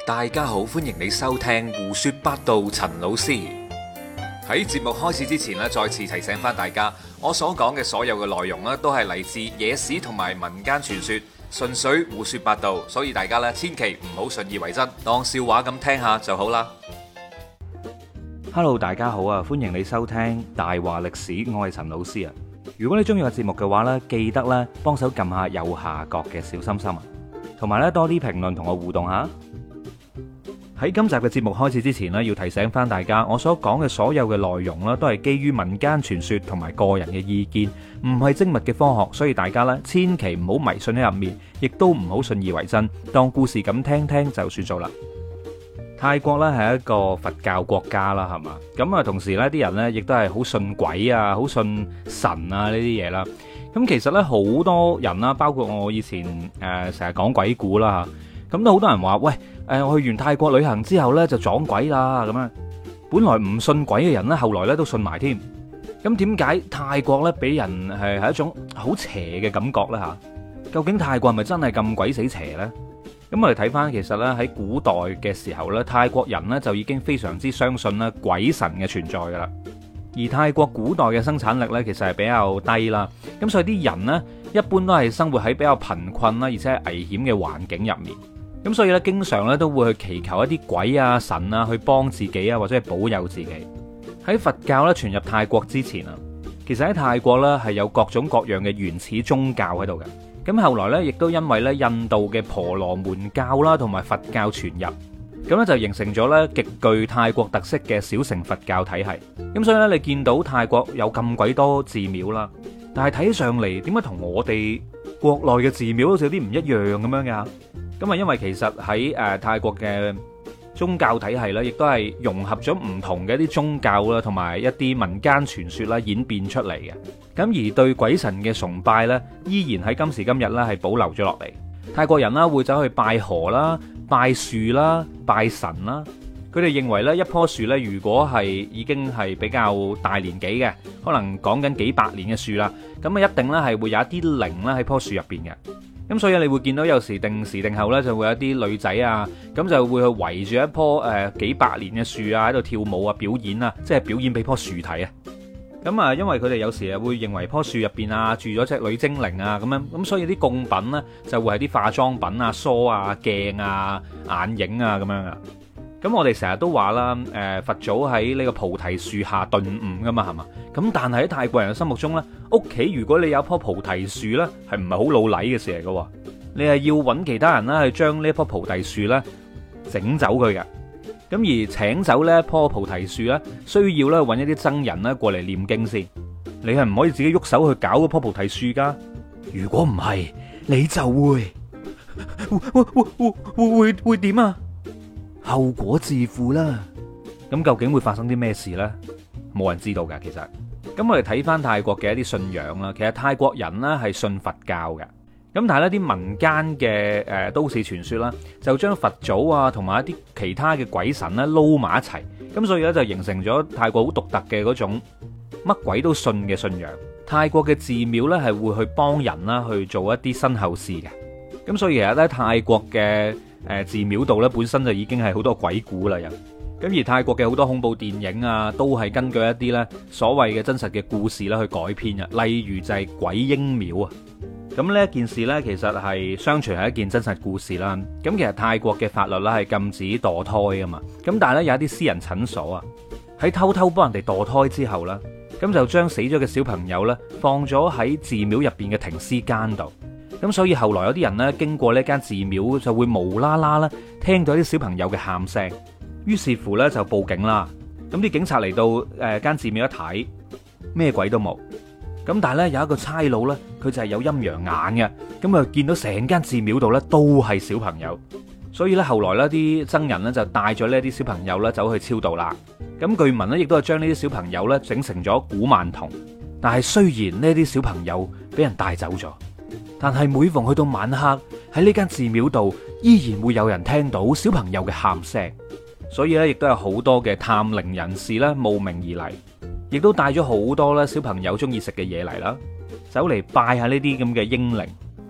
大家好，歡迎你收聽胡說八道。陳老師喺節目開始之前咧，再次提醒翻大家，我所講嘅所有嘅內容咧，都係嚟自野史同埋民間傳說，純粹胡說八道，所以大家咧千祈唔好信以為真，當笑話咁聽下就好啦。 Hello， 大家好啊，歡迎你收聽大話歷史，我係陳老師啊。如果你中意個節目嘅話呢，記得咧幫手撳下右下角嘅小心心啊，同埋咧多啲評論同我互動下。喺今集嘅節目開始之前呢，要提醒翻大家，我所講嘅所有嘅內容呢，都係基於民間傳說同埋個人嘅意見，唔係精密嘅科學，所以大家呢千祈唔好迷信喺入面，亦都唔好信以為真，當故事咁聽聽就算數啦。泰國咧係一個佛教國家啦，係嘛？咁啊，同時呢啲人呢亦都係好信鬼啊，好信神啊呢啲嘢啦。咁其實呢，好多人啦，包括我以前成日講鬼故啦吓，咁都好多人話喂，我去完泰國旅行之後呢，就撞鬼啦咁樣。本來唔信鬼嘅人呢，後來呢都信埋添。咁點解泰國呢俾人係一種好邪嘅感覺呢？吓？究竟泰國係咪真係咁鬼死邪呢？咁我哋睇翻，其實咧喺古代嘅時候咧，泰國人咧就已經非常之相信咧鬼神嘅存在噶啦。而泰國古代嘅生產力咧，其實係比較低啦。咁所以啲人呢，一般都係生活喺比較貧困啦，而且係危險嘅環境入面。咁所以咧，經常咧都會去祈求一啲鬼啊神啊去幫自己啊，或者係保佑自己。喺佛教咧傳入泰國之前啊，其實喺泰國咧係有各種各樣嘅原始宗教喺度嘅。咁後來咧，亦都因為咧印度嘅婆羅門教啦，同埋佛教傳入，咁咧就形成咗咧極具泰國特色嘅小乘佛教體系。咁所以咧，你見到泰國有咁鬼多寺廟啦，但係睇上嚟點解同我哋國內嘅寺廟好似有啲唔一樣咁樣㗎？咁啊，因為其實喺泰國嘅宗教體系咧，亦都係融合咗唔同嘅一啲宗教啦，同埋一啲民間傳說啦，演變出嚟嘅。咁而對鬼神嘅崇拜咧，依然喺今時今日咧係保留咗落嚟。泰國人啦會走去拜河啦、拜樹啦、拜神啦。佢哋認為咧，一棵樹咧，如果係已經係比較大年紀嘅，可能講緊幾百年嘅樹啦，咁啊一定咧係會有一啲靈咧喺棵樹入邊嘅。咁所以你會見到有時定時定候咧，就會有啲女仔啊，咁就會去圍住一棵幾百年嘅樹啊，喺度跳舞啊、表演啊，即係表演俾棵樹睇啊。咁啊，因為佢哋有時啊會認為棵樹入邊啊住咗隻女精靈啊咁樣，咁所以啲供品呢，就會係啲化妝品啊、梳啊、鏡啊、眼影啊咁樣啊。咁我哋成日都話啦，佛祖喺呢個菩提樹下頓悟噶嘛，係嘛？咁但係喺泰國人嘅心目中呢，屋企如果你有一棵菩提樹呢，係唔係好老禮嘅事嚟噶？你係要揾其他人啦，去將呢棵菩提樹呢整走佢嘅。咁而請走呢一棵菩提樹呢，需要咧揾一啲僧人咧過嚟念經先。你係唔可以自己喐手去搞嗰棵菩提樹噶。如果唔係，你就會點啊？後果自負啦。咁究竟會發生啲咩事呢？冇人知道噶。其實，咁我哋睇翻泰國嘅一啲信仰啦。其實泰國人呢係信佛教嘅。咁但係呢啲民間嘅都市傳說啦，就將佛祖啊同埋一啲其他嘅鬼神咧撈埋一齊。咁所以咧就形成咗泰國好獨特嘅嗰種乜鬼都信嘅信仰。泰國嘅寺廟呢係會去幫人啦去做一啲身後事嘅。咁所以其實咧泰國嘅寺廟度咧本身就已經係好多鬼故啦，又咁而泰國嘅好多恐怖電影啊，都係根據一啲咧所謂嘅真實嘅故事啦去改編啊，例如就係鬼嬰廟啊。咁呢一件事呢，其實係相傳係一件真實故事啦。咁其實泰國嘅法律咧係禁止墮胎噶嘛。咁但係咧有一啲私人診所啊，喺偷偷幫人哋墮胎之後呢，咁就將死咗嘅小朋友呢放咗喺寺廟入邊嘅停屍間度。咁所以後來有啲人呢經過呢間寺廟就會無啦啦啦聽到啲小朋友嘅喊聲，於是乎呢就報警啦。咁啲警察嚟到間寺廟一睇，咩鬼都冇。咁但係咧有一個差佬咧，佢就係有陰陽眼嘅，咁啊見到成間寺廟度咧都係小朋友，所以咧後來咧啲僧人咧就帶咗呢啲小朋友咧走去超度啦。咁據聞咧亦都係將呢啲小朋友咧整成咗古曼童。但係雖然呢啲小朋友俾人帶走咗，但係每逢去到晚黑喺呢間寺廟度，依然會有人聽到小朋友嘅喊聲。所以咧亦都有好多嘅探靈人士咧慕名而嚟。亦都帶咗好多咧小朋友中意食嘅嘢嚟啦，走嚟拜下呢啲咁嘅嬰靈。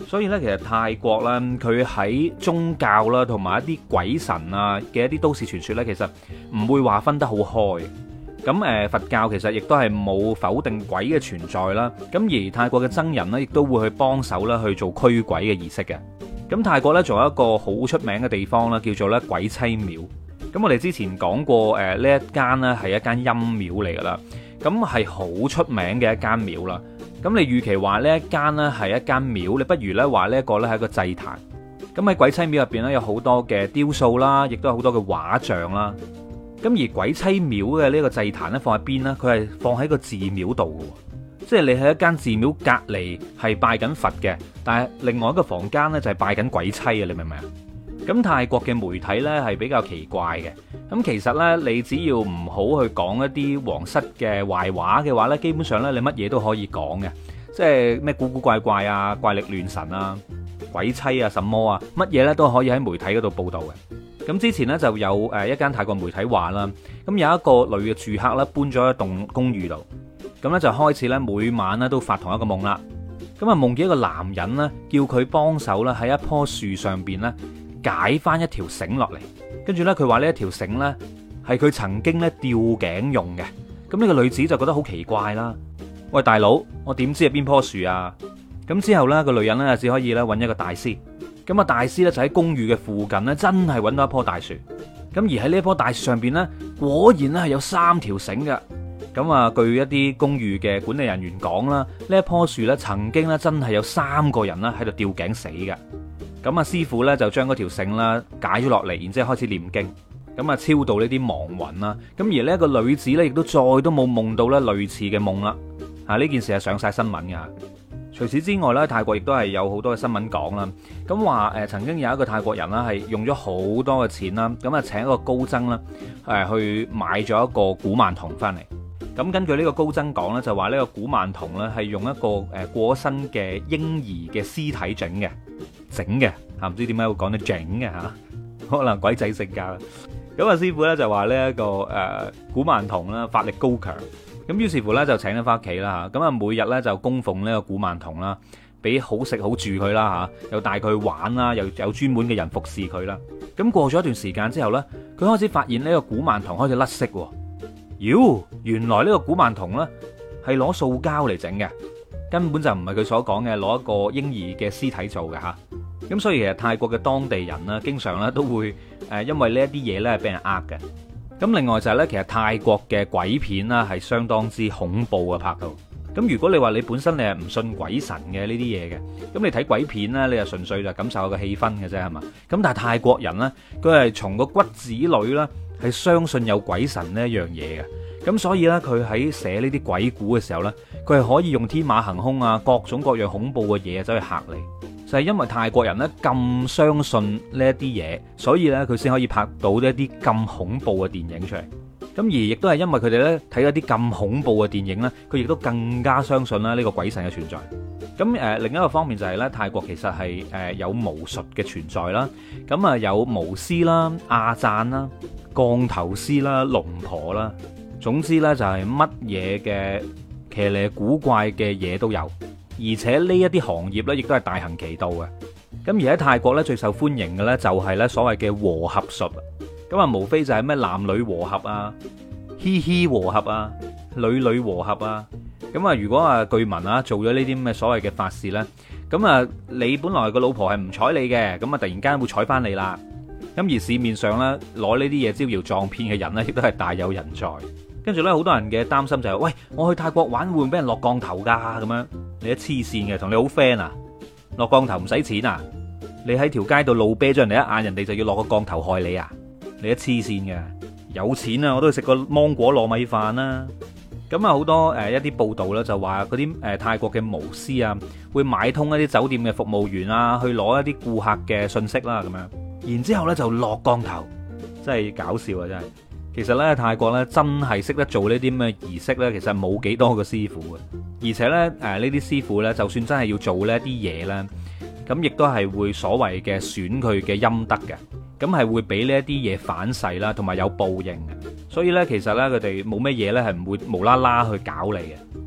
所以咧，其實泰國咧，佢喺宗教啦，同埋一啲鬼神啊嘅一啲都市傳說咧，其實唔會話分得好開。咁佛教其實亦都係冇否定鬼嘅存在啦。咁而泰國嘅僧人呢，亦都會去幫手啦去做驅鬼嘅儀式嘅。咁泰國呢，仲有一個好出名嘅地方啦，叫做咧鬼妻廟。咁我哋之前講過呢一間呢係一間陰廟嚟噶啦，咁係好出名嘅一間廟啦。咁你與其話呢一間呢係一間廟，你不如呢話呢一個呢係一個祭壇。咁喺鬼妻廟入邊呢，有好多嘅雕塑啦，亦都有好多嘅畫像啦。咁而鬼妻廟嘅呢個祭壇呢，放喺邊呢？佢係放喺個寺廟度嘅，即係你喺一間寺廟隔離係拜緊佛嘅，但係另外一個房間呢，就係拜緊鬼妻啊！你明唔明啊？咁泰國嘅媒體呢，係比較奇怪嘅。咁其實呢，你只要唔好去講一啲皇室嘅壞話嘅話呢，基本上呢，你乜嘢都可以講嘅，即係咩古古怪怪啊、怪力亂神啊、鬼妻啊、什麼啊，乜嘢呢都可以喺媒體嗰度報導嘅。咁之前呢，就有一間泰國媒體話啦，咁有一個女嘅住客呢，搬咗一棟公寓度，咁呢，就開始呢，每晚呢都發同一個夢啦。咁啊夢見一個男人呢，叫佢幫手呢，喺一棵樹上邊呢，解翻一條繩落嚟，跟住呢，佢話呢一條繩呢係佢曾經呢吊頸用嘅。咁呢個女子就覺得好奇怪啦。喂，大佬，我點知係邊棵樹啊？咁之後呢，個女人呢，只可以呢揾一個大師。咁啊，大師呢，就喺公寓嘅附近呢，真係揾到一棵大樹。咁而喺呢棵大樹上邊呢，果然呢係有3條繩嘅。咁啊，據一啲公寓嘅管理人員講啦，呢一棵樹呢，曾經呢，真係有3個人呢喺度吊頸死嘅。咁啊，師傅咧就將嗰條繩啦解咗落嚟，然之後開始念經，咁啊超度呢啲亡魂啦。咁而呢一個女子咧，亦都再都冇夢到咧類似嘅夢啦。呢件事係上晒新聞㗎。除此之外咧，泰國亦都係有好多嘅新聞講啦。咁話曾經有一個泰國人啦，係用咗好多嘅錢啦，咁啊請一個高僧啦，去買咗一個古曼童翻嚟。咁根據呢個高僧講咧，就話呢個古曼童咧係用一個過身嘅嬰兒嘅屍體整嘅唔知點解會講得整嘅嚇，可能鬼仔性格。咁啊師傅咧就話呢一個古曼童啦法力高強，咁於是乎咧就請咗翻屋企啦嚇。咁啊每日咧就供奉呢個古曼童啦，俾好食好住佢啦嚇，又帶佢去玩啦，又有專門嘅人服侍佢啦。咁過咗一段時間之後咧，佢開始發現呢個古曼童開始甩色喎。妖，原來呢個古曼童咧係攞塑膠嚟整嘅，根本就唔係佢所講嘅攞一個嬰兒嘅屍體做嘅嚇。咁所以其實泰國嘅當地人呢，經常咧都會因為呢一啲嘢咧係俾人呃嘅。咁另外就係咧，其實泰國嘅鬼片啦係相當之恐怖嘅拍到。咁如果你話你本身你係唔信鬼神嘅呢啲嘢嘅，咁你睇鬼片咧，你就純粹就感受下個氣氛嘅啫，係嘛？咁但係泰國人呢，佢係從個骨子裏啦係相信有鬼神呢一樣嘢嘅。咁所以咧，佢喺寫呢啲鬼故嘅時候咧，佢係可以用天馬行空啊，各種各樣恐怖嘅嘢走去嚇你。就係因為泰國人咧咁相信呢一啲嘢，所以咧佢先可以拍到呢一啲咁恐怖嘅電影出嚟。咁而亦都係因為佢哋咧睇一啲咁恐怖嘅電影咧，佢亦都更加相信啦呢個鬼神嘅存在。咁另一個方面就係咧，泰國其實係有巫術嘅存在啦。咁啊有巫師啦、亞贊啦、降頭師啦、龍婆啦，總之咧就係乜嘢嘅騎呢古怪嘅嘢都有。而且呢一啲行業咧，亦都係大行其道嘅。咁而喺泰國咧，最受歡迎嘅咧就係咧所謂嘅和合術。咁啊，無非就係咩男女和合啊、嘻嘻和合啊、女女和合啊。咁啊，如果啊據聞啊做咗呢啲咁嘅所謂嘅法事咧，咁啊你本來個老婆係唔睬你嘅，咁啊突然間會睬翻你啦。咁而市面上咧攞呢啲嘢招搖撞騙嘅人咧，亦都係大有人在。跟住咧，好多人嘅擔心就係：喂，我去泰國玩會唔會俾人落降頭㗎？咁樣你一黐線嘅，同你好 friend 啊？落降頭唔使錢啊？你喺條街度路啤咗人哋一眼，人哋就要落個降頭害你啊？你一黐線嘅，有錢啊，我都去食個芒果糯米飯啦。咁啊，好多一啲報道咧，就話嗰啲泰國嘅巫師啊，會買通一啲酒店嘅服務員啊，去攞一啲顧客嘅信息啦，咁樣，然之後咧就落降頭，真係搞笑啊！真係。其實咧，泰國咧真係識得做呢啲咁嘅儀式咧，其實冇幾多個師傅嘅，而且咧呢啲師傅咧，就算真係要做呢啲嘢咧，咁亦都係會所謂嘅損佢嘅陰德嘅，咁係會俾呢一啲嘢反噬啦，同埋有報應嘅。所以咧，其實咧佢哋冇咩嘢咧係唔會無啦啦去搞你嘅。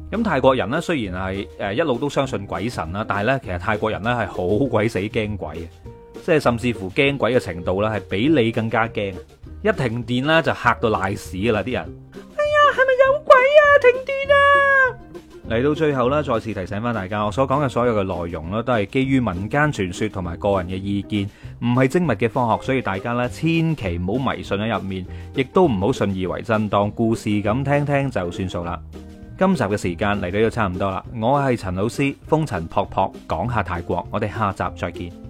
咁泰國人呢，雖然係一路都相信鬼神啦，但係呢，其實泰國人呢係好鬼死驚鬼嘅，即係甚至乎驚鬼嘅程度呢係比你更加驚。一停電呢，就嚇到賴屎噶啦啲人。哎呀，係咪有鬼啊？停電啊！嚟到最後呢，再次提醒翻大家，我所講嘅所有嘅內容呢，都係基於民間傳說同埋個人嘅意見，唔係精密嘅科學，所以大家呢，千祈唔好迷信喺入面，亦都唔好信以為真，當故事咁聽聽就算數啦。今集嘅時間嚟到呢度差唔多啦，我係陳老師，風塵僕僕講下泰國，我哋下集再見。